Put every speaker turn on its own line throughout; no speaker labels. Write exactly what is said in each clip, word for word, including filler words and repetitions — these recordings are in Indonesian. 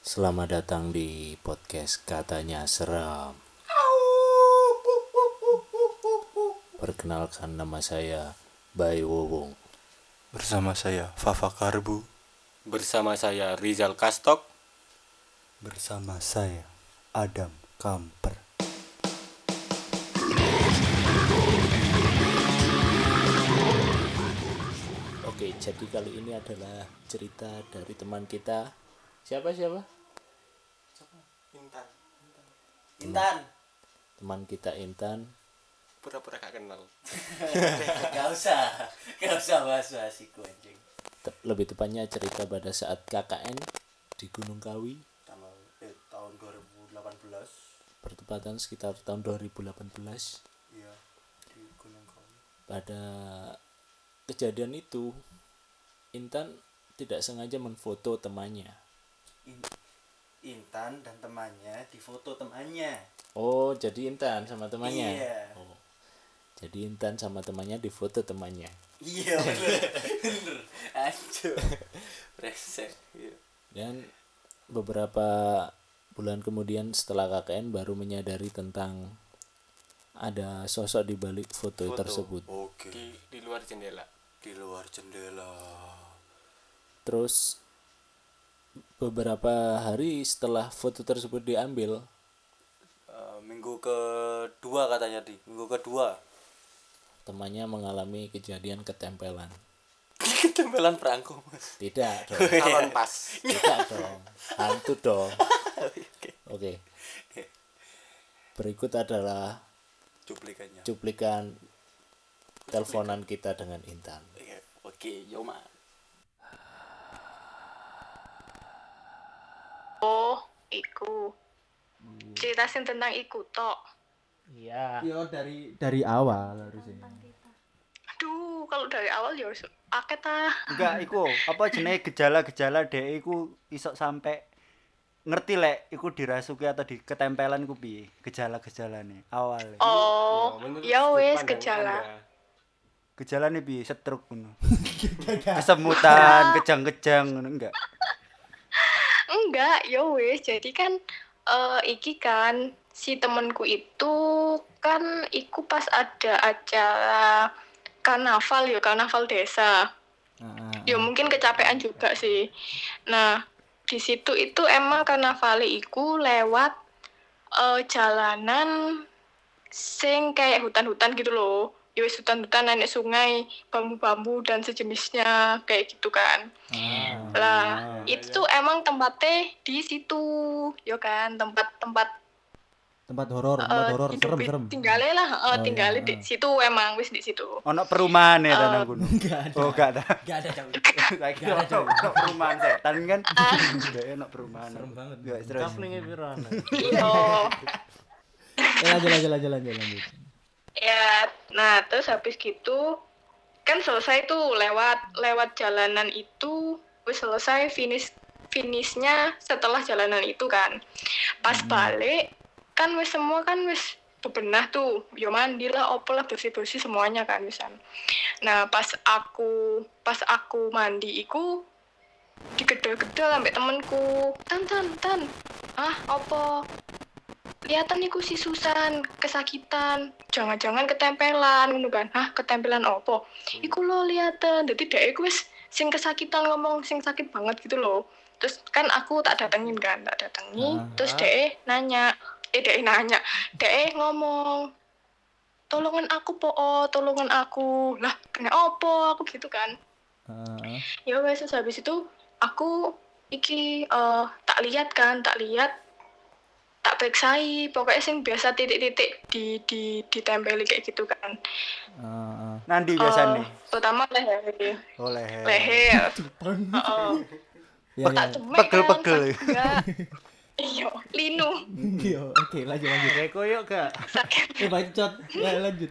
Selamat datang di podcast Katanya Seram. Perkenalkan, nama saya Bay Wowong.
Bersama saya Fafa Karbu.
Bersama saya Rizal Kastok.
Bersama saya Adam Kamper.
Oke, jadi kali ini adalah cerita dari teman kita. Siapa siapa?
Intan.
Intan.
Teman kita Intan.
Pura-pura gak kenal.
Gak usah, gak usah bahas-bahas iku anjing.
Te- lebih tepatnya cerita pada saat K K N di Gunung Kawi,
Tanggal eh, tahun dua ribu delapan belas.
bertepatan sekitar tahun dua ribu delapan belas.
Iya, di Gunung Kawi.
Pada kejadian itu, Intan tidak sengaja menfoto temannya.
In- Intan dan temannya difoto temannya.
Oh, jadi Intan sama temannya.
Iya.
Oh. Jadi Intan sama temannya difoto temannya.
Iya bener, bener. Anjir.
Resek. Iya.
Dan beberapa bulan kemudian setelah K K N baru menyadari tentang ada sosok di balik foto,
Foto.
tersebut.
Oke.
Di di luar jendela.
Di luar jendela.
Terus beberapa hari setelah foto tersebut diambil,
Uh, minggu kedua katanya di minggu kedua.
temannya mengalami kejadian ketempelan.
Ketempelan perangko, Mas.
Tidak dong.
Salon pas.
Tidak dong. Hantu dong.
Oke.
Oke. Berikut adalah
Cuplikannya.
cuplikan teleponan kita dengan Intan.
Iya. Oke, Yoma.
Oh, iku. Ceritain tentang iku tok.
Iya.
Yo dari dari awal harusnya.
Aduh, kalau dari awal ya wis akeh ta.
Enggak, iku apa jenenge gejala-gejala dhek iku iso sampai ngerti lek iku dirasuki atau di ketempelan iku piye gejala-gejalane awal.
Oh, ya wis gejala.
Gejalane piye stroke ngono. Kesemutan, kejang-kejang ngono enggak.
Enggak, ya wis. Jadi kan eh iki kan si temenku itu kan iku pas ada acara karnaval ya, karnaval desa. Ya mungkin kecapean juga sih. Nah, di situ itu emang karnaval iku lewat eh, jalanan sing kayak hutan-hutan gitu loh. Ya wis hutan-hutan, nenek sungai, bambu-bambu dan sejenisnya kayak gitu kan. Lah, itu emang tempatnya di situ, ya kan, tempat-tempat
tempat horor, tempat
eh,
horor,
hidup
serem, serem.
tinggalnya lah, eh,
Oh,
tinggalnya
iya,
di situ emang wis di situ.
Ono perumahan ya tanah gunung.
Enggak ada.
Oh, enggak ada.
Enggak ada, Cak.
Saiki ono ono perumahan setan kan. Dhek ono perumahan.
Serem banget.
Ya terus.
Kaflinge piro ana?
Iya.
Eh, lanjut, lanjut, lanjut, lanjut, lanjut.
Ya, nah terus habis gitu kan selesai tuh lewat lewat jalanan itu, wis selesai finish finishnya setelah jalanan itu kan. Pas balik kan wis semua kan wis bebenah tuh, yo mandi lah, opo lah, bersih-bersih semuanya kan wisan. Nah, pas aku pas aku mandi iku digedel-gedel sampai temenku. Tan tan tan. Ah, opo? Kelihatan iku si Susan kesakitan, jangan-jangan ketempelan ngono kan. Hah, ketempelan opo? Iku lo liaten. Dadi dhek iku wis sing kesakitan ngomong sing sakit banget gitu loh. Terus kan aku tak datengin kan, tak datangi. Terus dhek nanya, eh dhek nanya, dhek ngomong, "Tolongan aku po, oh, tolongan aku." Lah, kena opo aku gitu kan.
Heeh.
Ya wes terus habis itu aku iki eh, tak lihat kan, tak lihat tak periksai, pokoknya sing biasa titik-titik di di ditempeli kayak gitu kan.
Heeh.
Nandi
Eh,
biasane.
pertama leher,
Oh leher.
leher. Heeh.
Ya,
Tak
ya.
cemek
Pegel-pegel.
kan, enggak. Iya, linu.
Iya, oke, lanjut, lanjut.
Kayak koyo gak?
Sakit,
Eh, bacot. Ya, lanjut.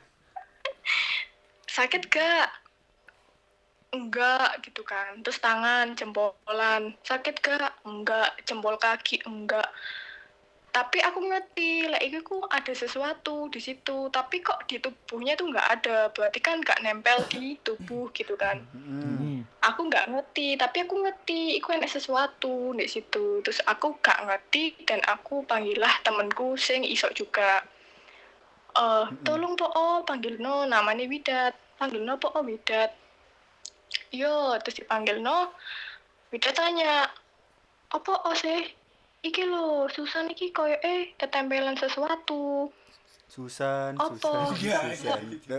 sakit gak? Enggak gitu kan. Terus tangan, jempolan, sakit gak? Enggak. Jempol kaki, enggak. tapi aku ngerti lah itu ku ada sesuatu di situ, tapi kok di tubuhnya tuh nggak ada, berarti kan nggak nempel di tubuh gitu kan.
Hmm.
Aku nggak ngerti, tapi aku ngerti itu ada sesuatu di situ. Terus aku nggak ngerti dan aku panggillah temanku sing isok juga. Eh, tolong po oh panggil no namanya Widat, panggil no po oh Widat. Yo, terus dipanggil no, Widat tanya, apa oh sih? Iki lho, Susan iki koyo eh ketempelan sesuatu.
Susan,
Apa?
Susan, Susan.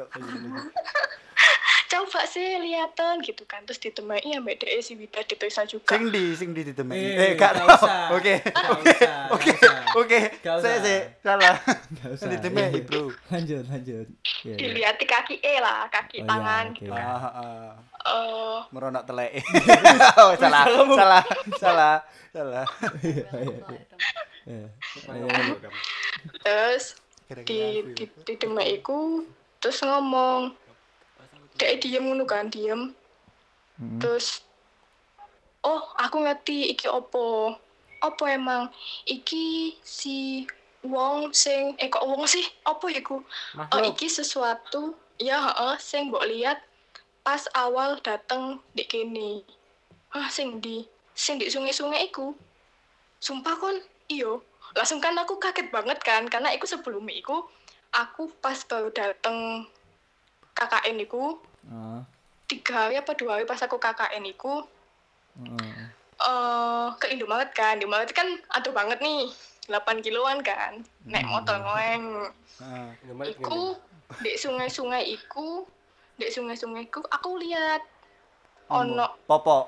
Coba sih liatin gitu kan. Terus ditemui ambek dhek si Widat diperiksa juga.
Sing di, sing di ditemui.
Eh,
Eh, gak
gak
tau.
usah.
Oke,
Gak
oke,
usah,
oke,
gak usah.
oke.
Gak
Saya
usah.
sih salah.
Gak usah.
Ditemui, bro.
Lanjut, lanjut. Iya, iya.
Dilihat di kaki E lah, kaki
Oh, iya,
tangan.
oke.
Ah, ah.
Eh,
Meronak telek. Oh, salah, salah, salah, salah.
Iya, iya, iya. Iya. Iya, iya.
terus
Kira-kira
di
aku
di,
ya.
di demek iku terus ngomong. Dek diem ngono kan, diem.
Hmm.
Terus oh, aku ngerti iki opo. Opo emang iki si wong sing eh kok wong sih? Opo iku? Oh, iki sesuatu ya heeh sing mbok lihat pas awal dateng di kene. Hah, sing di sing di sungai-sungai iku. Sumpah kon, iyo. Langsung kan aku kaget banget kan karena iku sebelum iku aku pas baru dateng K K N iku
Ah,
tiga hari apa dua hari pas aku K K N iku
ah.
eh ke Indomaret kan, Indomaret kan aduh banget nih delapan kiloan kan naik motor ngoeng
Ah.
iku di sungai-sungai iku di sungai-sungai iku aku lihat ono
Popok.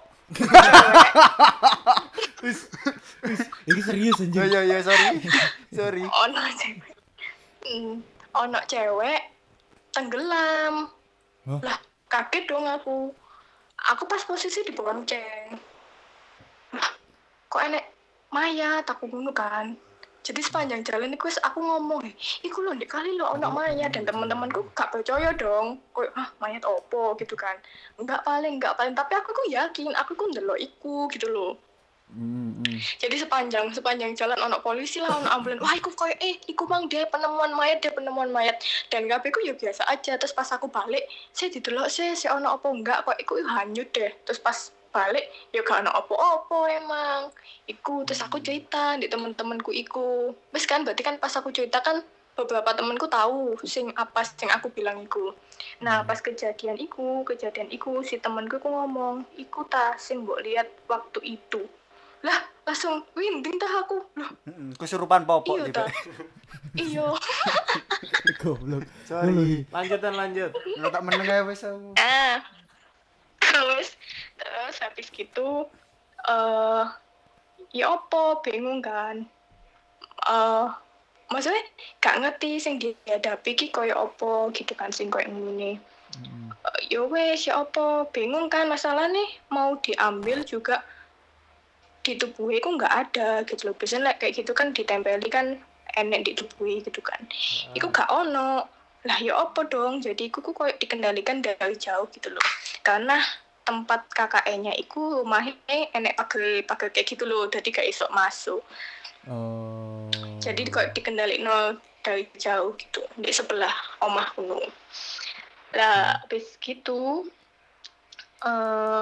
Ini serius
Yo
anjing.
yo yo sorry. Sorry.
ono cewek Hmm, ono cewek tenggelam.
Hah?
Lah kaget dong aku aku pas posisi di bonceng. Lah kok enek mayat aku ngono kan. Jadi sepanjang jalan itu aku ngomong, iku lho ndek kali lho ono mayat, dan teman-temanku gak percaya dong. Kayak ah mayat opo gitu kan. Enggak paling, enggak paling, tapi aku ku yakin, aku ku ndelok iku gitu loh.
Hmm, hmm.
Jadi sepanjang sepanjang jalan ono polisi lah, ono ambulan. Wah, iku koyo eh iku mang dia penemuan mayat, dia penemuan mayat. Dan kabeh ku ya biasa aja. Terus pas aku balik, saya didelok sih, si ono apa enggak, kok iku hanyut deh. Terus pas balik ya gak ono apa-apa emang. Iku terus aku cerita di temen-temenku iku. Wis kan berarti kan pas aku cerita kan beberapa temenku tahu sing apa sing aku bilang iku. Nah, pas kejadian iku, kejadian iku si temenku ku ngomong, iku ta sing mbok lihat waktu itu. Lah langsung winding tah aku loh.
Heeh, kesurupan popok
Iya
tiba.
tah. Iya.
Goblok.
Sorry.
Lanjut dan lanjut.
Lu tak meneng ae wis aku.
Ah. Terus terus habis gitu eh ya opo bingung kan. Eh maksudnya gak ngerti sing dihadapi ki koyo opo gitu kan sing koyo ngene. Eh, ya wes ya opo bingung kan masalah nih mau diambil juga di tubuhnya ku nggak ada gitu loh. Biasanya like, kayak gitu kan ditempeli kan enek di tubuhnya gitu kan. Iku gak ono. Lah ya apa dong? Jadi iku ku koyo dikendalikan dari jauh gitu loh. Karena tempat K K N-nya iku rumahnya enek pagar-pagar kayak gitu loh. Jadi gak iso masuk.
Oh.
Jadi kok dikendalikan dari jauh gitu di sebelah omahku. Lah habis gitu eh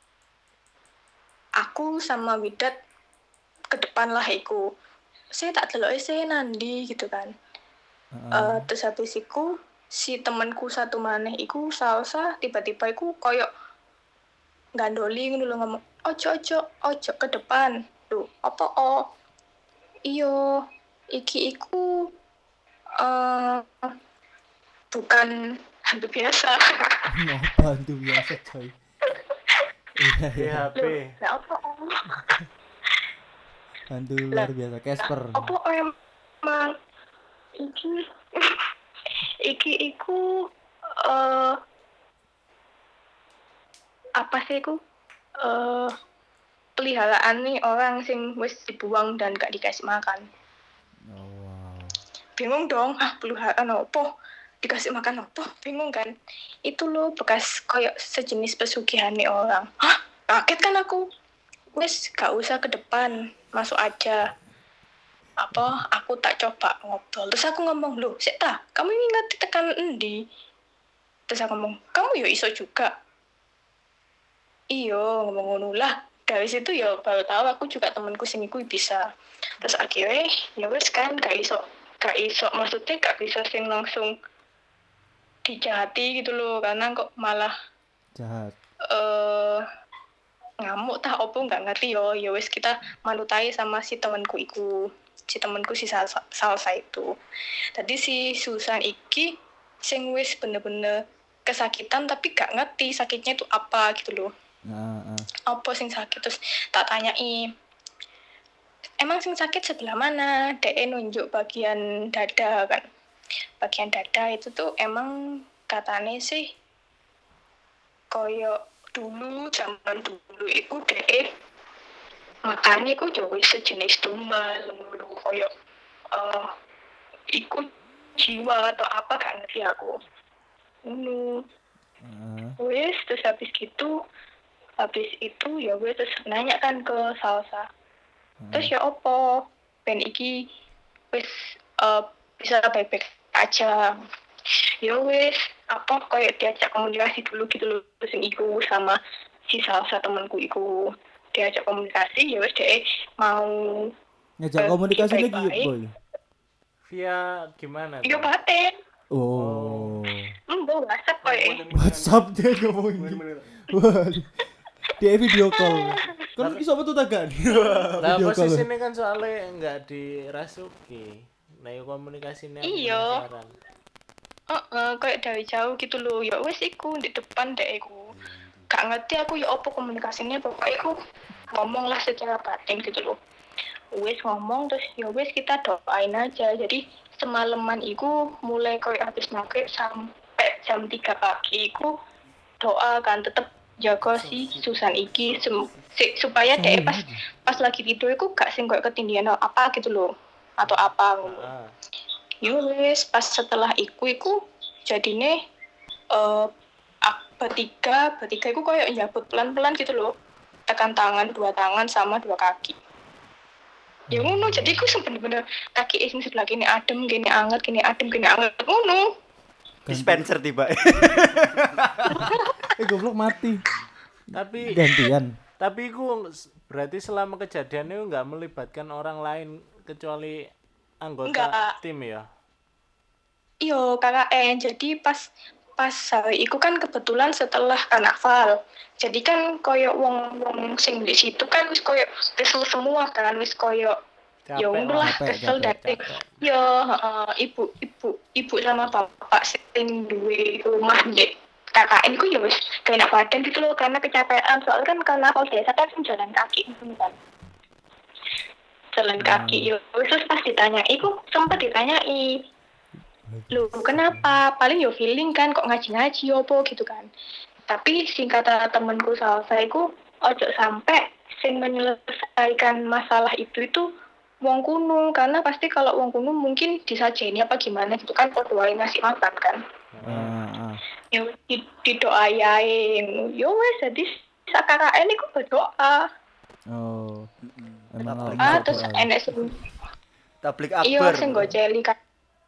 aku sama Widat ke depan lah iku. Saya tak delok saya nandi gitu kan. Eh terus habis iku si temanku satu maneh iku salsa tiba-tiba iku koyo gandoli ngono lho ngomong ojo ojo ojo ke depan. Duh, apa oh? Iyo, iki iku eh bukan hantu biasa.
Ngapa tuh biasa coy. Iya, iya.
P H P.
Lah apa oh?
Hantu luar biasa Casper.
Apa emang iki iki iku eh apa sih iku eh peliharaan nih orang sing wis dibuang dan gak dikasih makan.
Oh, wow.
Bingung dong, ah peliharaan apa? Dikasih makan apa? Bingung kan? Itu loh bekas kayak sejenis pesugihan nih orang. Hah? Kaget kan aku. Wis gak usah ke depan, masuk aja. apa aku tak coba ngobrol. Terus aku ngomong, "Loh, sik ta, kamu ini ngerti tekan endi?" Terus aku ngomong, "Kamu yo iso juga." Iyo, ngomong ngono lah. Dari situ ya baru tahu aku juga temanku sing iku bisa. Terus akhirnya ya wes kan gak iso, gak iso maksudnya gak bisa sing langsung dijahati gitu loh, karena kok malah
Jahat.
eh ngamuk tah opo nggak ngerti yo. Ya wes kita manutai sama si temanku iku. Si temanku si salsa, salsa itu. Tadi si Susan iki sing wis bener-bener kesakitan tapi gak ngerti sakitnya itu apa gitu loh.
Nah, ah.
Apa sing sakit, terus tak tanyai, emang sing sakit sebelah mana? Dia nunjuk bagian dada kan. Bagian dada itu tuh emang katanya sih koyo dulu, zaman dulu itu dia makannya itu jauh sejenis tumbal dulu koyo uh, ikut jiwa atau apa gak ngerti aku. Ini
Ah.
wes terus habis gitu habis itu ya gue terus nanya kan ke Salsa, terus ya opo ben iki wes uh, bisa baik-baik aja. Ya wes apa kayak diajak komunikasi dulu gitu loh sing iku sama si Salsa temanku iku, diajak komunikasi ya wes deh mau
Ngajak
Eh,
komunikasi lagi
baik-baik.
boy.
Via gimana
yo
tuh?
batin
Oh.
embo WhatsApp kayak
WhatsApp dia ngomongin. Wah. Dia video call. Kan iso betul tak gak?
Lah
Video call.
posisinya kan soalnya enggak dirasuki. Nah, yo komunikasinya
Iya. Heeh, kayak dari jauh gitu loh. Ya wes iku di depan deh iku. Gak ngerti aku ya apa komunikasinya, pokoknya aku ngomong lah secara batin gitu loh. Wes ngomong terus ya wes kita doain aja. Jadi semalaman iku mulai kayak habis maghrib sampai jam tiga pagi iku doa kan tetep jaga si Susan iki sem- si- supaya deh pas pas lagi tidur iku gak sing kayak ketindihan apa gitu loh atau apa ngono.
Ah.
Yo wes pas setelah iku iku jadine eh ak- bertiga bertiga iku kayak nyabut pelan-pelan gitu loh, tekan tangan dua tangan sama dua kaki. Ya ngono, jadi iku bener-bener kaki sing sebelah kini adem, kini anget, kini adem, kini anget ngono.
Dispenser tiba.
Eh goblok mati.
Tapi
Gantian.
tapi iku s- berarti selama kejadian itu enggak melibatkan orang lain kecuali anggota
Enggak.
tim ya.
Iyo K K N, jadi pas pas hari iku kan kebetulan setelah karnaval. Jadi kan koyo wong-wong sing di situ kan wis koyo kesel semua kan, wis koyo ya
Capek
ngono
lah.
lah
capek,
kesel
capek,
dari ya heeh, ibu ibu ibu sama bapak sing duwe rumah di K K N ku ya wis kena badan gitu loh karena kecapean, soalnya kan karnaval desa kan sing jalan kaki gitu kan. Jalan kaki yo wis terus pas ditanya iku sempat ditanyai, "Loh, kenapa?" Paling yo feeling kan kok ngaji-ngaji opo gitu kan. Tapi singkat kata temenku Salsa iku ojo sampai sing menyelesaikan masalah itu itu wong kuno, karena pasti kalau wong kuno mungkin disajeni apa gimana gitu kan podo wae ngasih makan kan.
Ah, ah.
Yo di, didoayain. Yo wes jadi sak K K N iku berdoa.
Oh. Emang harus
Ah terus
berdoa.
enek sing
Tablik
iya
akbar.
sing goceli kan.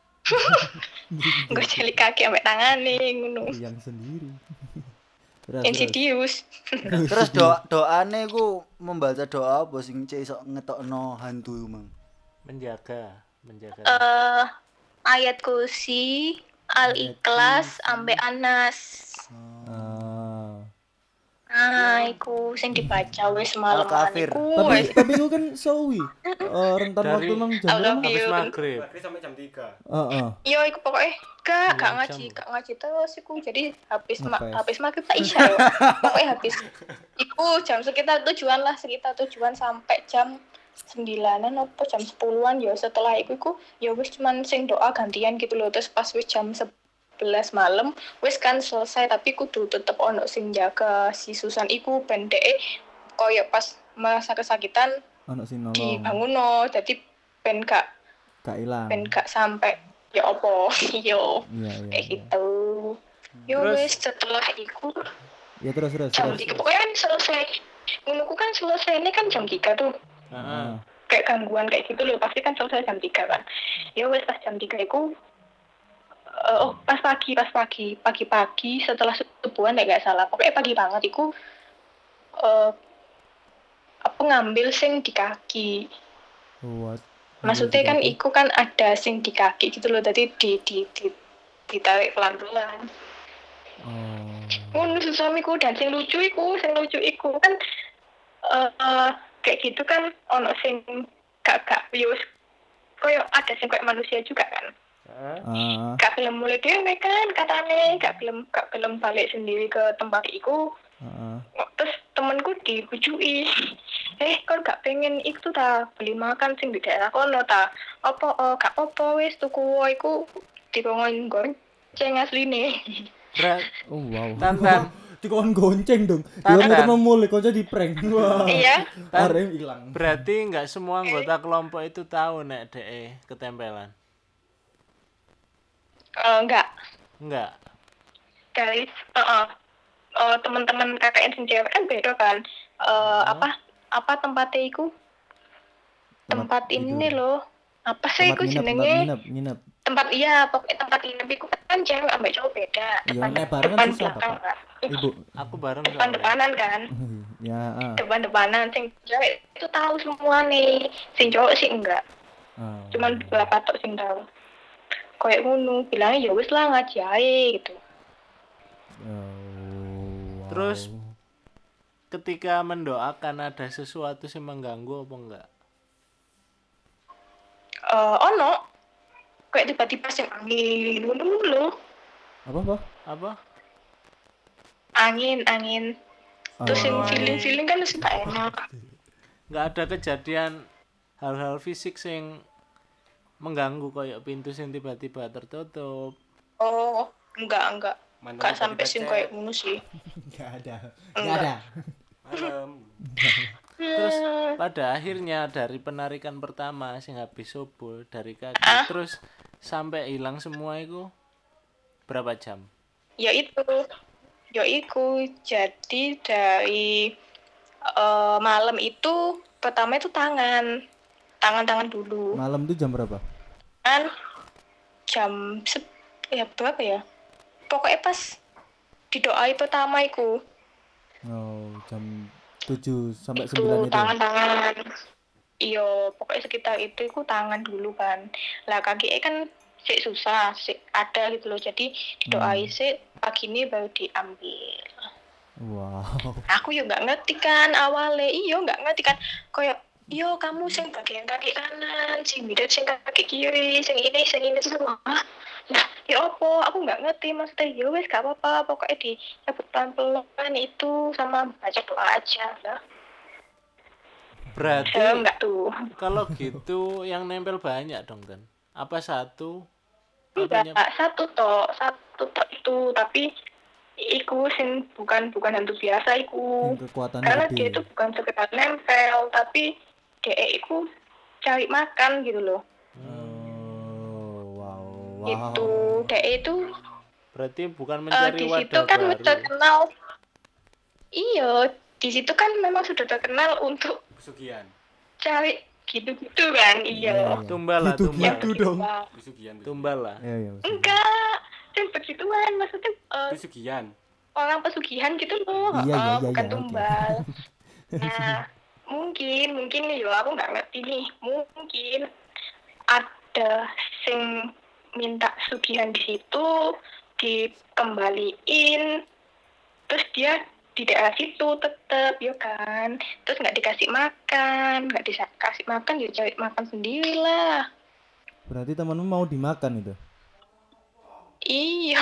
Goceli kaki ambek tangane ngono.
Yang sendiri. Terus, terus.
Insidious.
Terus doa doane ku membaca doa apa sing cek iso ngetokno hantu iku, Mang?
Menjaga, menjaga.
Eh ayat kursi, Al-Ikhlas, ambek Anas.
Ah.
Nah, iku sing dibaca wis semalam
Al-Kafir.
iku.
Tapi
wis.
tapi itu kan sawi. Eh, rentan
Dari-
waktu nang jam
I love
berapa?
Habis
you.
maghrib.
sampai jam tiga.
Heeh.
Yo iku pokoknya gak gak
Sembilan
ngaji,
jam.
gak ngaji terus iku. Jadi habis ma-
Ngepes.
habis maghrib tak isya yo. Pokoknya habis iku jam sekitar tujuan lah, sekitar tujuan sampai jam sembilanan apa jam sepuluhan ya. Setelah iku iku ya wis cuman sing doa gantian gitu loh. Terus pas wis jam sebelas malam wis kan selesai, tapi kudu tetep ono sing jaga si Susan iku ben dhek koyo pas merasa kesakitan
Ono sing nolong.
dibanguno, jadi ben gak
Gak ilang.
ben gak sampai ya opo yo
Iya, iya.
kayak
iya.
gitu. Yo
Terus-
wis setelah iku
Ya terus terus
jam
terus.
tiga pokoknya kan selesai. Ngono ku kan selesai ini kan jam tiga tuh.
Heeh.
Ah.
Kayak gangguan kayak gitu loh, pasti kan selesai jam tiga kan. Ya wes pas jam tiga itu uh, oh pas pagi pas pagi pagi-pagi setelah subuhan nggak salah, pokoknya pagi banget iku uh, apa ngambil sing di kaki.
What?
Maksudnya kan iku kan ada sing di kaki gitu loh, tadi di di di ditarik pelan-pelan.
Oh.
Ngono suamiku, dan sing lucu iku, sing lucu iku kan uh, uh, kayak gitu kan ono sing gak gak yus koyo ada sing kayak manusia juga kan.
Ah.
Gak film mulai dhewe kan katane, gak film gak film balik sendiri ke tempat iku.
Heeh.
Terus temenku dibujui, eh kau gak pengen itu ta beli makan sing di daerah kono ta? Apa oh, gak apa wis tuku wae iku dikongkon gonceng asline.
Berat.
Oh wow.
Tantan.
Dikon gonceng dong.
Tantan.
Dikon ketemu mulai kok jadi prank. Wah.
Iya.
Arem hilang.
Berarti nggak semua anggota kelompok itu tahu nek de ketempelan.
Eh, enggak,
Enggak.
guys. Heeh. Uh, teman-teman K K N sing cewek kan beda kan. Eh apa apa tempatnya iku? Tempat ini loh. Apa sih iku
Tempat nginep, tempat
jenenge?
nginep, nginep.
Tempat iya, pokoknya tempat nginep iku kan cewek ambek cowok beda.
Iya,
Depan
nek bareng kan
depan
susah,
belakang
Pak.
kan.
Ibu.
Aku bareng soalnya.
Depan-depanan kan.
Ya, ah.
Depan-depanan sing cewek itu tahu semua nih. Sing cowok sih enggak.
Ah.
Cuman beberapa tok sing tahu. Kayak ngono, bilangnya ya wis lah ngaji ae gitu.
Oh, wow.
Terus ketika mendoakan ada sesuatu yang mengganggu apa enggak?
Eh ono kayak tiba-tiba sing angin ngono lho.
apa apa?
Apa?
Angin, angin. Terus sing
Oh.
feeling-feeling kan wis gak enak.
Enggak ada kejadian hal-hal fisik yang mengganggu kayak pintu yang tiba-tiba tertutup.
Oh, enggak, enggak.
Mana
Enggak sampai
tiba-tiba
sing
cek.
kayak ngono sih.
Enggak ada. Enggak ada.
Malam.
Terus pada akhirnya dari penarikan pertama sing habis subuh dari kaki
Ah?
terus sampai hilang semua itu berapa jam?
Ya itu. Ya iku. Jadi dari eh, malam itu pertama itu tangan. Tangan-tangan dulu.
Malam itu jam berapa?
Kan jam se- ya berapa ya? Pokoknya pas didoai pertama iku.
Oh, jam tujuh sampai
Itu
sembilan itu.
tangan-tangan. Iya, pokoknya sekitar itu iku tangan dulu kan. Lah kaki kan sik susah, sik ada gitu loh. Jadi didoai sik pagi ini baru diambil.
Wow.
Aku yo nggak ngerti kan awalnya, iyo nggak ngerti kan. Kayak yo kamu sing bagian kaki kanan, sing bidet sing kaki kiri, sing ini sing ini semua. Nah, ya opo, aku nggak ngerti maksudnya. Ya wes gak apa-apa, pokoknya dicabut pelan-pelan itu sama baca doa aja lah.
Berarti
Saya enggak tuh.
kalau gitu yang nempel banyak dong kan? Apa satu?
Enggak,
Apanya?
satu toh, satu toh itu, tapi iku sing bukan bukan hantu biasa iku.
Yang kekuatannya
Karena
gede.
dia itu bukan sekedar nempel, tapi dia iku cari makan gitu loh.
Oh, wow. Wow.
Gitu. Dia itu
Berarti bukan
eh,
mencari
di situ
wadah
kan
baru.
terkenal. Iya, di situ kan memang sudah terkenal untuk
Pesugihan.
cari gitu-gitu kan. Iya.
Tumbal lah,
Gitu
tumbal.
gitu dong.
Wah,
Pesugihan.
Tumbal lah.
Iya, iya. maksudnya.
enggak, yang begituan maksudnya eh,
Pesugihan.
orang pesugihan gitu loh,
Iya, iya,
eh,
iya,
bukan
iya, oke.
tumbal. Nah, mungkin mungkin nih yo aku nggak ngerti nih, mungkin ada sing minta sugihan di situ dikembaliin, terus dia di daerah situ tetep yo kan, terus nggak dikasih makan, nggak dikasih makan ya cari makan sendiri lah.
Berarti temanmu mau dimakan itu.
Iya,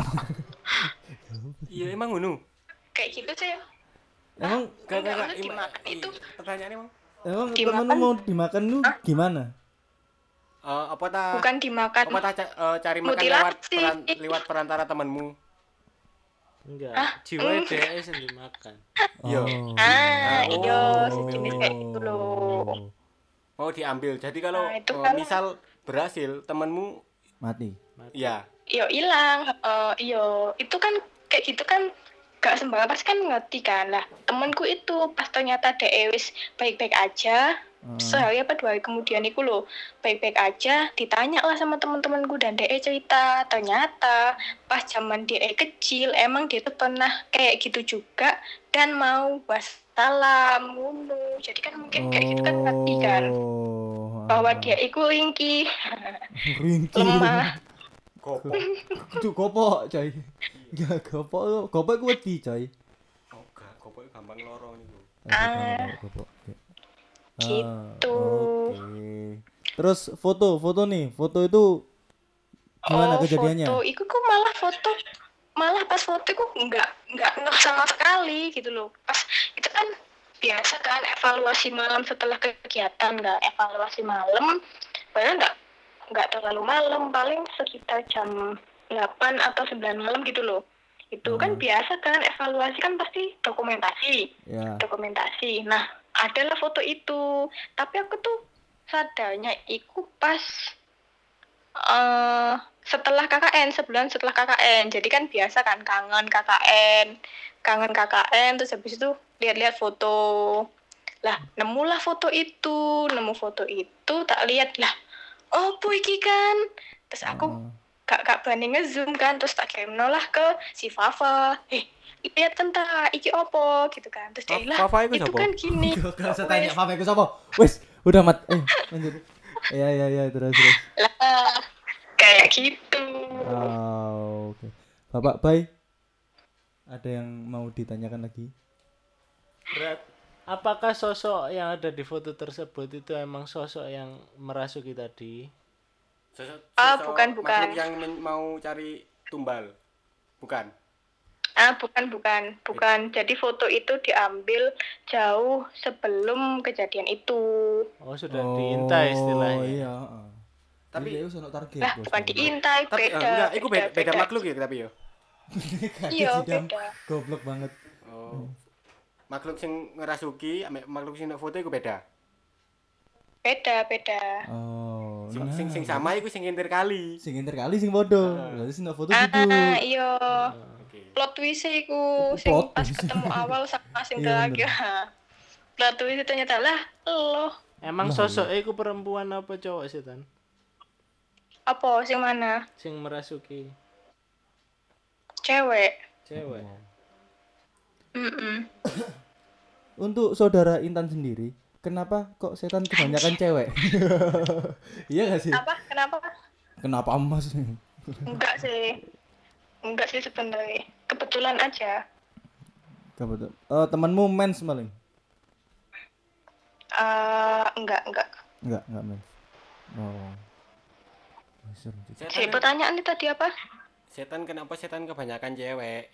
Iya emang ngono.
kayak gitu sih.
Emang
Gak
Enggak,
gak
maksud dimakan itu.
Pertanyaannya emang
emang
Dimakan?
temanmu mau dimakan lu gimana?
eh, apa ta?
Bukan dimakan.
Apa ta ca- eh, cari makan lewat
Mutilasi.
peran, lewat perantara temanmu?
Enggak,
Ah,
jiwa
mm.
D S yang dimakan.
Iya.
Oh.
Ah,
Oh.
iya, sejenis kayak gitu loh.
Mau diambil. Jadi kalau
Nah, itu
eh,
kan-
misal berhasil temanmu
Mati.
ya
Iya hilang, eh iya itu kan kayak gitu kan gak sembarang pasti kan ngerti kan lah. Temenku itu pas ternyata dia wis baik-baik aja, sehari apa dua hari kemudian iku lho baik-baik aja, ditanya lah sama teman-temanku dan dia cerita ternyata pas zaman dia kecil emang dia tuh pernah kayak gitu juga dan mau wassalam ngono. Jadi kan mungkin kayak gitu kan ngerti kan
Oh.
bahwa dia iku ringkih,
Ringkih.
lemah.
Kopok.
Itu kopok, coy. Ya kopok, kopok ku wedi, coy.
Oh, gak, kopok gampang loro niku.
Ah.
Kopok.
Gitu.
Oke. Terus foto, foto nih, foto itu gimana
Oh,
kejadiannya?
foto, iku kok malah foto, malah pas foto iku nggak nggak ngeh sama sekali gitu loh. Pas itu kan biasa kan evaluasi malam setelah kegiatan, nggak evaluasi malam, padahal nggak nggak terlalu malam, paling sekitar jam delapan atau sembilan malam gitu loh. Itu kan biasa kan evaluasi kan pasti dokumentasi,
Ya.
dokumentasi. Nah adalah foto itu, tapi aku tuh sadarnya iku pas eh setelah K K N, sebulan setelah K K N. Jadi kan biasa kan kangen K K N, kangen K K N, terus habis itu lihat-lihat foto. Lah, nemulah foto itu, nemu foto itu, tak lihat lah. Oh, bu iki kan. Terus aku gak gak berani ngezoom kan, terus tak kirim nolah ke si Fafa. Eh, lihat tentang iki opo gitu kan. Terus dia lah,
Fafa iku
itu
siapa?
kan gini.
Gak usah tanya apa iku sapa. Wis, udah mat. Eh, lanjut. Iya iya iya terus terus.
Lah, kayak gitu.
Oh, oke. Bapak Bay, ada yang mau ditanyakan lagi?
Berat. Apakah sosok yang ada di foto tersebut itu emang sosok yang merasuki tadi?
Sosok,
Ah,
sosok
bukan, bukan.
makhluk yang men- mau cari tumbal. Bukan.
Ah, bukan, bukan, bukan. Jadi foto itu diambil jauh sebelum kejadian itu.
Oh, sudah diintai istilahnya.
Oh iya, heeh.
Tapi-
Tapi itu ono target,
Lah,
Bos.
bukan diintai,
Tapi eh,
beda.
enggak, itu beda, beda
beda.
makhluk ya tapi yo.
Kaget
Iya,
sih, Dam.
beda.
Goblok banget.
Oh. Makhluk sing ngerasuki ambek makhluk sing nek foto iku beda.
Beda, beda.
Oh,
Sing
nah.
sing, sing sama iku sing ngintir kali.
Sing inter kali sing bodoh. Berarti sing foto
Ah,
gitu.
iya.
Oke.
Plot twist iku sing
Plot
pas
twist.
ketemu awal sama sing
Iya,
terakhir. Plot twist itu ternyata lah, lo.
Emang sosoknya itu perempuan apa cowok sih, Tan?
Apa sing mana?
Sing merasuki
Cewek.
cewek.
Mm-mm.
Untuk saudara Intan sendiri, kenapa kok setan kebanyakan cewek? Iya gak sih?
Apa? Kenapa?
Kenapa Mas?
Enggak sih. Enggak sih sebenarnya. Kebetulan aja.
Kebetul. Eh temanmu mens maling?
Eh, enggak, enggak.
Enggak, enggak mens. Oh. Seru juga.
Si
Setan,
pertanyaan tadi apa?
setan kenapa setan kebanyakan cewek?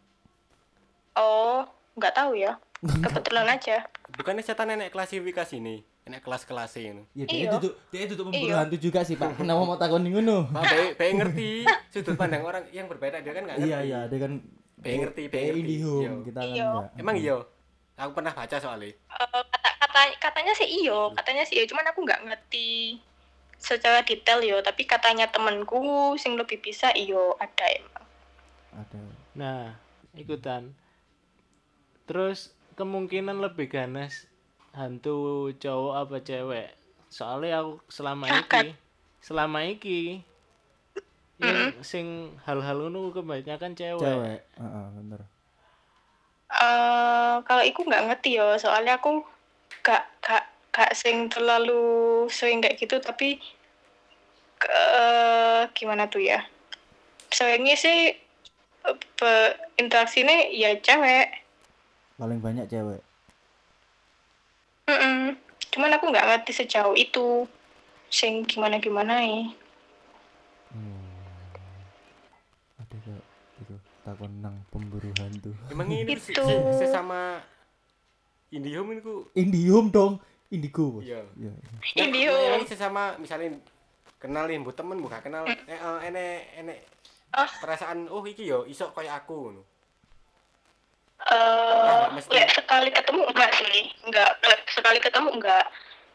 Oh, enggak tahu ya. Kebetulan aja.
Bukannya setan enek klasifikasi nih, enek kelas-kelas ini.
Ya dia
Iya.
itu dia itu memburu
Iya.
hantu juga sih, Pak. Kenapa mau takon ngono?
Pak, baik baik ngerti sudut pandang orang yang berbeda, dia kan nggak ngerti.
Iya iya, dia kan
Baik ngerti, baik
kayak
ngerti.
Indihome,
Iya.
kita kan
Iya.
enggak.
Emang iya? Aku pernah baca soalnya.
Eh, kata, kata, katanya sih iyo, katanya sih iyo. Cuman aku nggak ngerti secara detail yo. Tapi katanya temenku sing lebih bisa iyo ada emang.
Ada.
Nah, ikutan. Terus kemungkinan lebih ganas hantu cowok apa cewek? Soalnya aku selama iki, selama iki yang sing hal-hal ngono kebanyakan cewek.
Cewek. Heeh, bener.
Eh, kalau aku nggak ngerti yo. Soalnya aku gak gak gak sing terlalu sering kayak gitu. Tapi eh gimana tuh ya? Seringnya sih eh, be- interaksinya ya cewek.
Paling banyak cewek.
Mm-mm. Cuman aku nggak ngerti sejauh itu sing gimana gimana ya.
Ada kayak itu takon nang pemburu hantu.
Emang ini
Gitu.
se- se- sesama Indihome itu
Indihome dong, Indigo. Bos.
Iya.
Iya.
Indihome.
Ini sesama misalnya kenalin bu temen bukan kenal eh eh, enek enek
Ah.
perasaan oh iki yo iso kayak aku ngono.
Eh,
nggak mesti.
lek sekali ketemu enggak sih, enggak. Lek sekali ketemu enggak.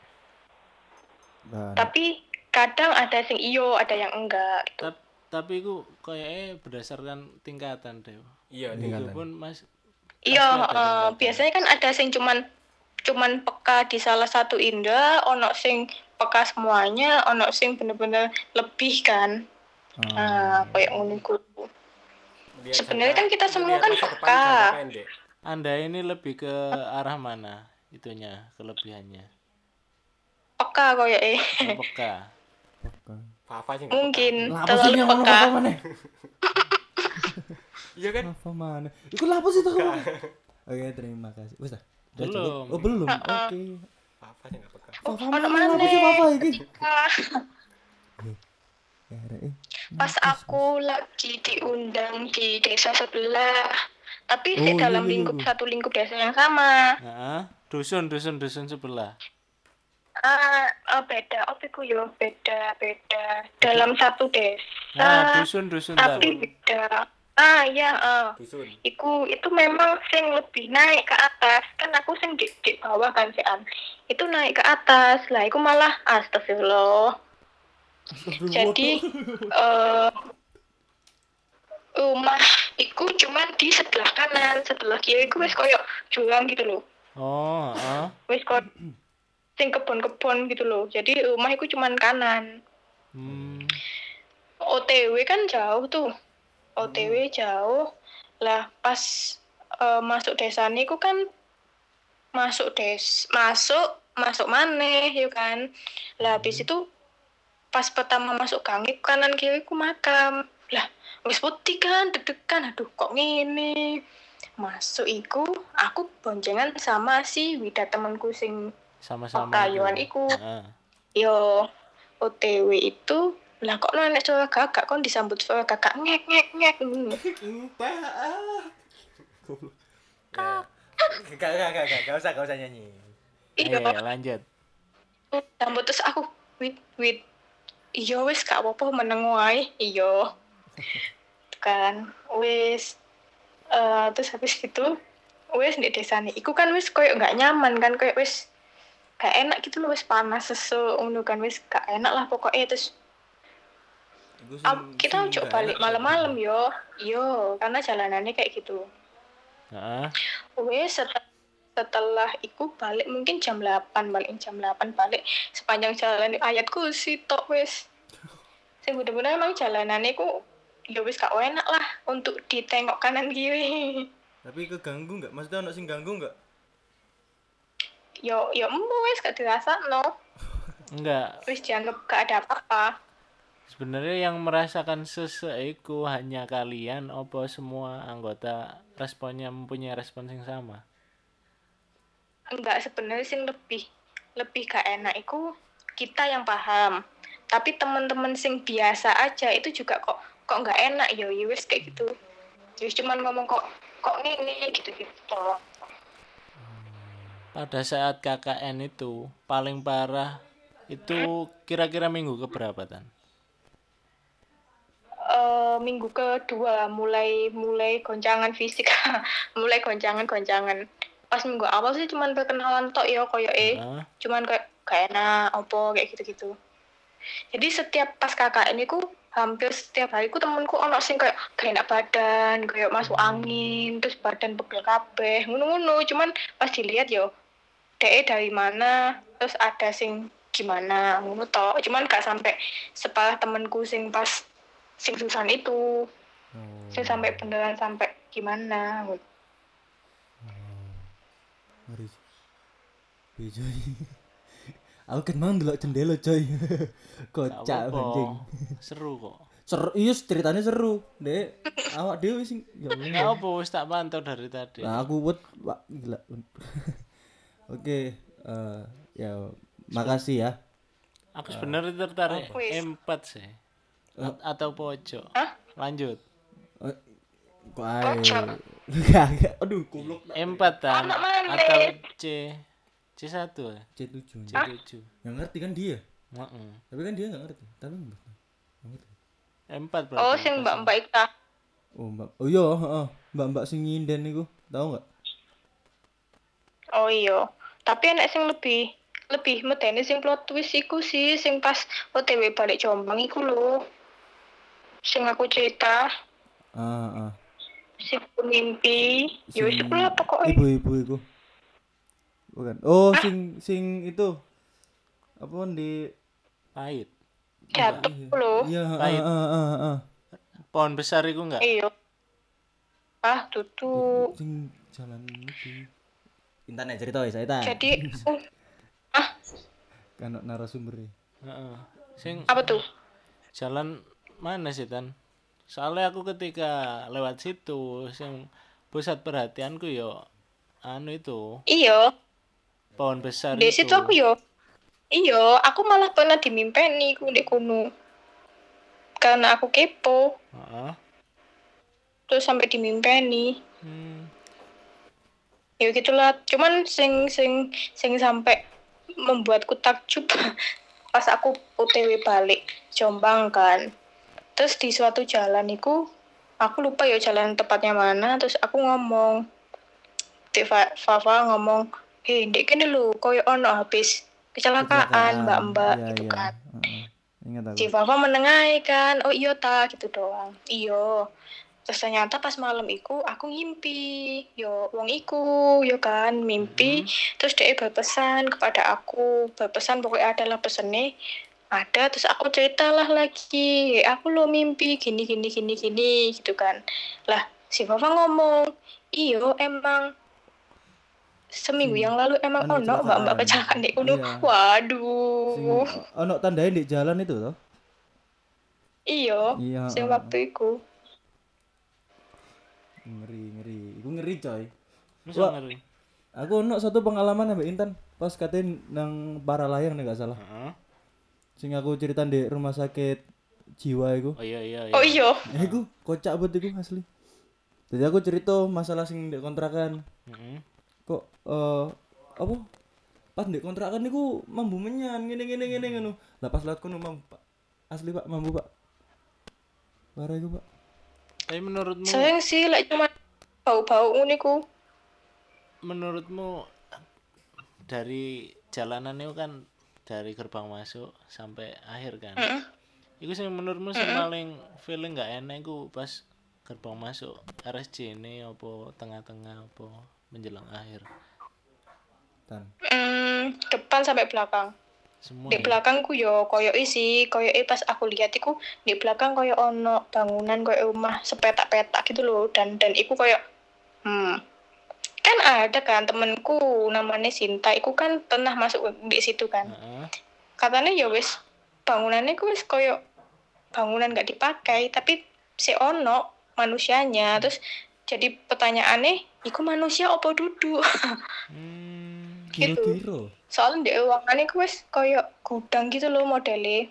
Dan
Tapi kadang ada sing iyo, ada yang enggak. Gitu.
Tap- tapi itu kayaknya berdasarkan tingkatan deh.
Iya,
Itu
tingkatan.
pun mas
Iya,
pasti ada
eh,
tingkatan.
biasanya kan ada sing cuman cuman peka di salah satu indra, ono sing peka semuanya, ono sing bener-bener lebih kan. Nah, kayak ngono iku. Sebenarnya kan kita semua kan peka.
Anda ini lebih ke arah mana itunya kelebihannya?
Peka kayak eh.
Oh, peka.
Fafa sih nggak
Mungkin
Lah apa sih
terlalu
yang ngomong
peka.
apa mana?
iya kan
Apa mana? Iku lah apa sih tuh? Oke, terima kasih. Wes dah. Udah cukup?
Belum.
Oh, belum. Oke.
Fafa sih nggak peka
Oh,
Papa
ono
mana? Apa sih
maneh.
papa iki?
Ah,
Ya, Rek, eh.
Pas aku lagi diundang di desa sebelah, tapi
Oh,
di
iya,
dalam
iya,
lingkup
iya.
satu lingkup desa yang sama.
Heeh. Dusun dusun dusun sebelah.
Ah, ah, beda, opiku yo beda beda dalam satu desa.
Nah, dusun dusun
tapi
tahu.
beda. Ah iya, ah.
dusun
Iku itu memang sing lebih naik ke atas. Kan aku sing di, di bawah kan sean. Itu naik ke atas. Lah iku malah astagfirullah. Jadi eh rumah iku cuman di sebelah kanan, sebelah kiri iku wis koyo jurang gitu loh.
Oh, heeh.
Wis koyo sing kebon-kebon gitu loh. Jadi rumah iku cuman kanan.
Hmm.
O T W kan jauh tuh. O T W jauh. Lah pas eh, masuk desa niku kan masuk des masuk masuk maneh ya kan. Lah habis itu pas pertama masuk gang iku kanan kiri ku makam. Lah wis putih kan deg-degan, aduh kok ngene. Masuk iku aku boncengan sama si Wida temanku sing
Sama-sama.
Pakayuan
itu.
iku.
Heeh.
yo O T W itu lah kok nenek suara gagak kon disambut suara gagak ngek ngek ngek ngono.
gak gak gak gak gak usah gak usah nyanyi
Iya,
Ayo, lanjut.
sambut terus aku wit wit iya wis gak apa-apa meneng wae iya. Kan wis eh terus habis gitu wis di desane iku kan wis koyo gak nyaman kan koyo wis gak enak gitu loh wis panas sesuk ngono kan wis gak enak lah pokoknya terus
Iku sing-
ah, kita
sing
ojo
gak
balik
enak
malam-malam yo yo karena jalanannya kayak gitu.
Heeh.
Wes setelah, setelah iku balik mungkin jam delapan balik jam delapan balik sepanjang jalan ayat kursi tok wes. Sing bener-bener emang jalanannya ku ya wis gak enak lah untuk ditengok kanan kiri.
tapi keganggu nggak maksudnya anak sing ganggu nggak
Yo yo embo wes gak dirasakno.
Enggak.
Wis dianggap gak ada apa-apa.
Sebenarnya yang merasakan seseiku hanya kalian apa semua anggota responnya mempunyai respon yang sama?
Enggak sebenarnya sing lebih lebih gak enak iku kita yang paham. Tapi teman-teman sing biasa aja itu juga kok kok nggak enak yo ya wis kayak gitu. Wis cuman ngomong kok kok ngene gitu-gitu.
Pada saat K K N itu paling parah itu kira-kira minggu keberapa Tan?
Eh, minggu kedua mulai mulai goncangan fisik, mulai goncangan-goncangan. Pas minggu awal sih cuman perkenalan tok ya koyo eh,
Heeh.
cuman kayak gak enak opo kayak gitu-gitu. Jadi setiap pas K K N iku hampir setiap hari ku temenku ono sing kayak gak enak badan, kayak masuk angin, terus badan pegel kabeh, ngono-ngono. Cuman pas dilihat yo, dek dari mana, terus ada sing gimana, ngono tok. Cuman gak sampai separah temenku sing pas sing susan itu. Sing sampai beneran sampai gimana.
Ngeri. Wih, coy. Aku kan mau ndelok jendela, coy.
Gak
Kocak
apa-apa.
anjing.
Seru kok.
Seru, iya ceritanya seru. Dek, awak dhewe sing ya
Gak
Allah.
apa wis tak pantau dari tadi.
Nah, aku wet, wah, gila. Oke, eh ya makasih ya.
Aku sebenarnya tertarik
Wis.
empat sih. A- atau pojok.
Hah?
Lanjut.
Eh, Kok ae. Gak, gak. Aduh, goblok.
Empat Tan
Anak mana?
atau C C satu ya?
C tujuh.
C tujuh.
Yang ngerti kan dia.
Heeh.
Tapi kan dia enggak ngerti. Tapi Mbak nggak ngerti.
Empat berarti.
Oh, sing mbak-mbak Ika.
Oh, Mbak. Oh iya, heeh. Mbak-mbak sing nyinden niku. Tahu enggak?
Oh iya. Tapi enek sing lebih lebih medeni sing plot twist iku sih sing pas O T W balik Jombang iku lho. Sing aku cerita,
Ah, ah.
sing aku mimpi, ya wis
Sing
iku lah pokoknya.
Ibu-ibu iku. Bukan. Oh, sing sing itu apa di
Pahit.
Jatuh loh.
iya,
Pahit.
heeh heeh heeh.
Pohon besar iku enggak?
Iya. Ah, tutup.
Sing jalan iki.
Intan ya cerita ya saya ta.
Jadi uh, ah,
Kan narasumber.
Heeh. Sing
apa tuh?
jalan mana sih Tan? Soalnya aku ketika lewat situ sing pusat perhatianku yo anu itu
Iya,
pohon besar
di
itu.
situ aku yo. Iya, aku malah pernah dimimpeni ku di kono. Karena aku kepo,
Heeh.
terus sampai dimimpeni.
Hmm.
Ya gitulah. Cuman sing sing sing sampai membuatku takjub pas aku O T W balik Jombang kan. Terus di suatu jalan itu aku lupa ya jalan tepatnya mana, terus aku ngomong Dek Fa- Fafa ngomong, "Hei, ndek kene lho, koyo ono habis kecelakaan, Mbak-mbak,"
Iya,
gitu
iya.
kan.
Heeh. Ingat aku.
Si Fafa menengahi kan, "Oh iya ta," gitu doang. Iya. Terus ternyata pas malam iku aku ngimpi, yo wong iku, yo kan mimpi. Terus dia berpesan kepada aku, berpesan pokoknya adalah pesennya ada. Terus aku ceritalah lagi, aku lo mimpi gini gini gini gini gitu kan. Lah si Fafa ngomong, iyo emang seminggu yang lalu emang
anu
ono mbak-mbak
kecelakaan.
kecelakaan di kuno.
Iya. Sing
Waduh,
ono tandain di jalan itu toh.
iyo,
Iya,
sing
heeh.
waktu iku.
Ngeri, ngeri. Iku ngeri coy.
Masa
Wah.
ngeri.
Aku ono satu pengalaman Mbak Intan pas katain nang Paralayang nih gak salah.
Heeh.
Sing aku cerita di rumah sakit jiwa iku.
Oh iya iya iya.
Oh iya,
Ya iku kocak banget iku asli. Jadi aku cerita masalah sing di kontrakan.
Heeh.
Kok eh apa? Pas di kontrakan iku mambu menyan ngene-ngene ngene ngono. Lah pas lewat kono mambu Pak. Asli Pak, mambu Pak. Parah iku Pak.
Tapi menurutmu
sayang sih like cuma bau-bau uniku.
menurutmu dari jalanan itu kan dari gerbang masuk sampai akhir kan.
Heeh.
Iku sing menurutmu sing paling feeling gak enak iku pas gerbang masuk R S C ini apa tengah-tengah apa menjelang akhir.
Tan.
Hmm, depan sampai belakang.
Semua.
Di
Ya?
belakangku yo koyo isi, koyo pas aku lihat iku di belakang koyo ono bangunan koyo rumah sepetak-petak gitu loh dan dan iku koyo hmm kan ada kan temenku namanya Sinta, iku kan pernah masuk di situ kan.
Heeh.
Katanya ya wis bangunannya ku wis koyo bangunan gak dipakai tapi si ono manusianya. Terus jadi pertanyaannya, iku manusia apa duduk?
Hmm.
Gitu.
Kira-kira.
Soalnya di ruangannya ku wis koyo gudang gitu loh modelnya.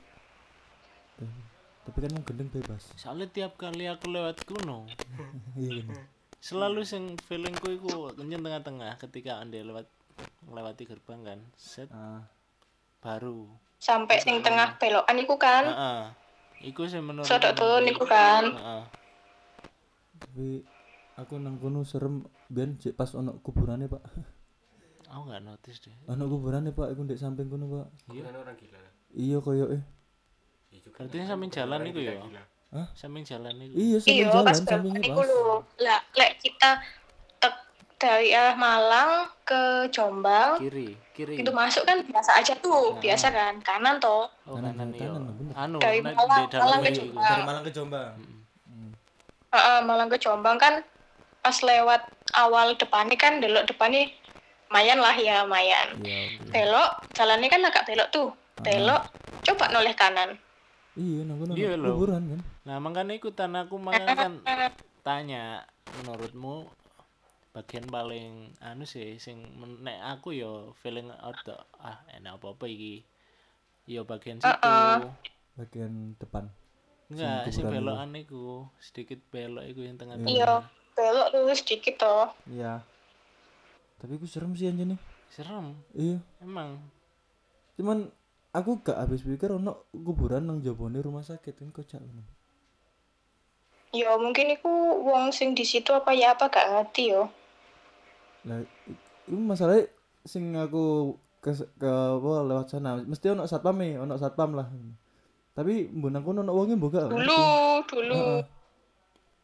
Tapi kan mau gendeng bebas.
Soalnya tiap kali aku lewat kuno
Iya bener.
selalu sing feelingku iku kenceng tengah-tengah ketika ande lewat melewati gerbang kan. Set
Ah,
baru.
Sampai sing tengah belokan iku kan.
Heeh. Iku sih menurut.
Sodok turun iku kan.
Heeh.
tapi aku nang kono serem ben jek pas ono kuburannya Pak.
Aku nggak notice deh.
Ono kuburannya Pak, iku ndek samping kono Pak.
Kan orang gila.
Iya koyo eh.
Ya juga.
Berarti samping jalan iku ya.
Gila.
Hah?
Samping jalan iku.
Iya samping
Iya,
jalan
pas
sampingnya
belokan iku
pas.
lho. Lah, lek kita tek- dari arah Malang ke Jombang,
Kiri, kiri.
itu masuk kan biasa aja tuh, biasa kan, kanan toh.
Oh,
Kanan,
kanan iya.
kanan, bener.
Anu,
Dari
nek
Malang-
di dalam
Malang ke
iku.
Jombang.
Dari Malang ke Jombang.
Heeh, Malang ke Jombang kan pas lewat awal depannya kan delok depannya lumayan lah ya, lumayan.
Iya. oke.
Belok, jalannya kan agak belok tuh. Belok, coba noleh kanan.
Iya nang kono
Iya,
ono
lho.
kuburan kan.
Nah, makanya ikutan aku makanya kan tanya menurutmu bagian paling anu sih sing men- nek aku yo feeling out the- ah enak apa-apa iki. Yo bagian situ.
Bagian depan.
Enggak,
Sing
sing
kuburan
belokan iku, sedikit belok iku yang tengah-tengah.
Iya, belok lurus sedikit toh.
Iya. Tapi aku serem sih anjene.
Serem,
Iya.
emang.
Cuman aku gak habis pikir ono kuburan nang jabone rumah sakit kan kocak ngono.
Ya mungkin iku wong sing di situ apa ya apa gak ngerti yo.
Lah i- itu masalahnya sing aku ke, ke apa lewat sana mesti ono satpam e, ono satpam lah. Tapi mbon aku ono wonge mbok gak.
Dulu, dulu.
Heeh.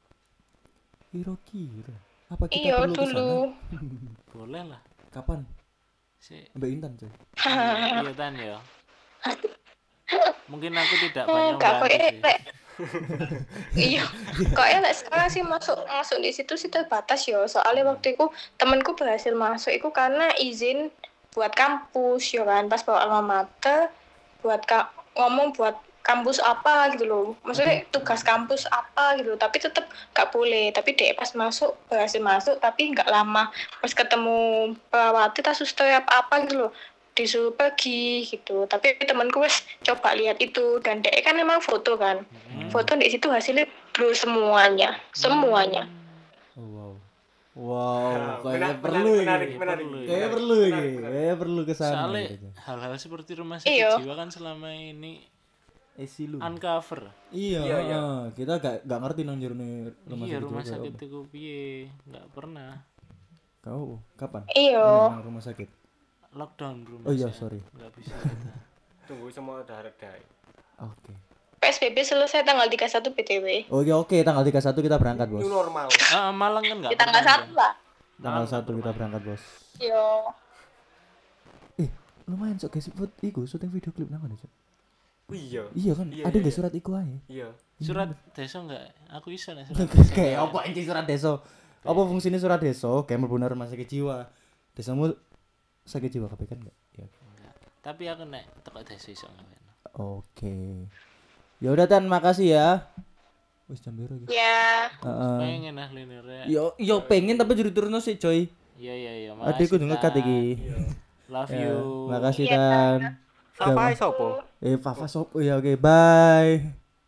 Kira-kira apa kita
Iya
perlu ke sana?
dulu.
Boleh lah.
Kapan?
Si,
Mbak Intan coy.
iya tan ya. Mungkin aku tidak banyak
Hmm, gak
membantu
koyo
sih.
lek iya kayaknya lek sekarang sih masuk masuk di situ sih terbatas yo soalnya waktu itu temenku berhasil masuk itu karena izin buat kampus yo kan pas bawa alma mater buat ka- ngomong buat kampus apa gitu loh maksudnya tugas kampus apa gitu loh. Tapi tetap gak boleh tapi dek pas masuk berhasil masuk tapi nggak lama pas ketemu perawati tas suster apa apa gitu loh disuruh pergi gitu tapi temanku wes coba lihat itu dan dek kan memang foto kan
Hmm.
foto di situ hasilnya blur semuanya semuanya
Oh, wow. Wow, kayaknya
Menarik,
perlu
menarik,
ini.
menarik,
Perlu,
Kayaknya
menarik,
perlu ini.
menarik, menarik.
Kayaknya perlu ke sana.
Soalnya
gitu.
hal-hal seperti rumah sakit
Iya.
jiwa kan selama ini
Esi lu.
uncover.
Iya,
Iya, iya.
heeh. Kita gak gak ngerti nang jero rumah
Iya
sakit.
rumah
jiwa
sakit
kayak
itu piye? Nggak pernah.
apa. Kau kapan?
Iya.
Nang rumah sakit.
Lockdown rumah.
Oh iya,
saya.
sorry.
Nggak bisa kita.
Tunggu semua udah reda.
Oke.
P S B B selesai tanggal tiga puluh satu B T W
Oh iya, oke, tanggal tiga puluh satu kita berangkat, Bos.
New normal.
Ah, Malang kan nggak
di tanggal
pernah,
satu
Jan.
lah
Tanggal
Malang
satu
nggak
kita
pernah.
berangkat, Bos.
yo
Eh, lumayan sok guys, buat iku syuting video klip nang ngono, Cok.
Oh, iya.
Iya kan,
Iya,
ada
iya,
nggak
iya.
surat iku ae?
Iya.
Surat desa nggak? Aku iso nih surat desa.
Kayak apa anjing surat desa? Apa fungsinya surat desa? Kayak mlebu nang rumah sakit jiwa. Desamu sakit jiwa kabeh kan enggak? Ya.
Enggak. Tapi aku nek teko desa iso ngawen.
Oke. Ya udah Tan, makasih ya. Wis jam biru iki.
ya
Heeh.
Pengen ah linear.
Yo yo pengen tapi juru turun sih, coy.
Iya iya iya.
Adekku
makasih,
ngekat
Tan.
iki.
Love
Ya,
you.
makasih
Iya,
Tan.
Apa sopo?
Eh, Fafa sopo ya, oke, bye.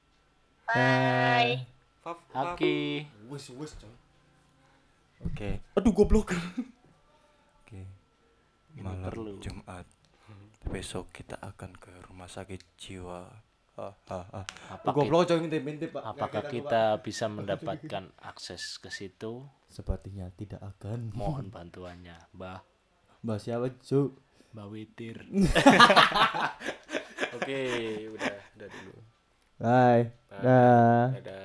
bye
Faf-
Haki.
Wis wis, coy. Oke. Aduh goblok. Oke.
Malam
perlu.
Jumat besok kita akan ke rumah sakit jiwa. Ah, ah, ah.
Apa
Goblok coy ngintip-ngintip, Pak.
Apakah kita bisa mendapatkan akses ke situ?
Sepertinya tidak akan.
Mohon bantuannya, Mbah.
Mbak siapa, Cuk?
Mbak Witir.
Oke, udah, udah dulu.
Bye.
Bye.
Dah.
Dadah.